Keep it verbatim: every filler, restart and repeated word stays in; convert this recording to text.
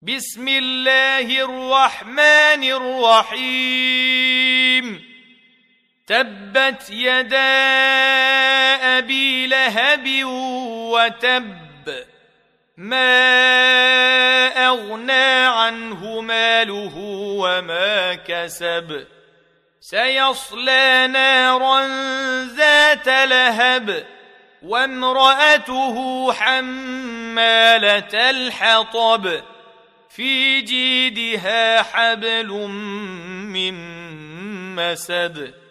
بسم الله الرحمن الرحيم تبت يدا أبي لهب وتب ما أغنى عنه ماله وما كسب سيصلى نارا ذات لهب وامرأته حمالة الحطب في جيدها حبل من مسد